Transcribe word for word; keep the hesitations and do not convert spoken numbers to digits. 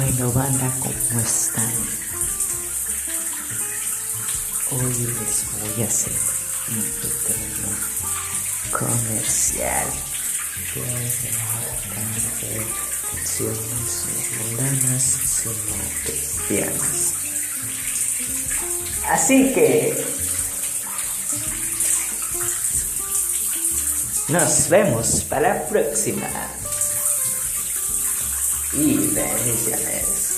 Bueno, banda, ¿cómo están? Hoy les voy a hacer un pequeño comercial que de reflexiones no mundanas, sino cristianas. Así que nos vemos para la próxima. Y bendiciones.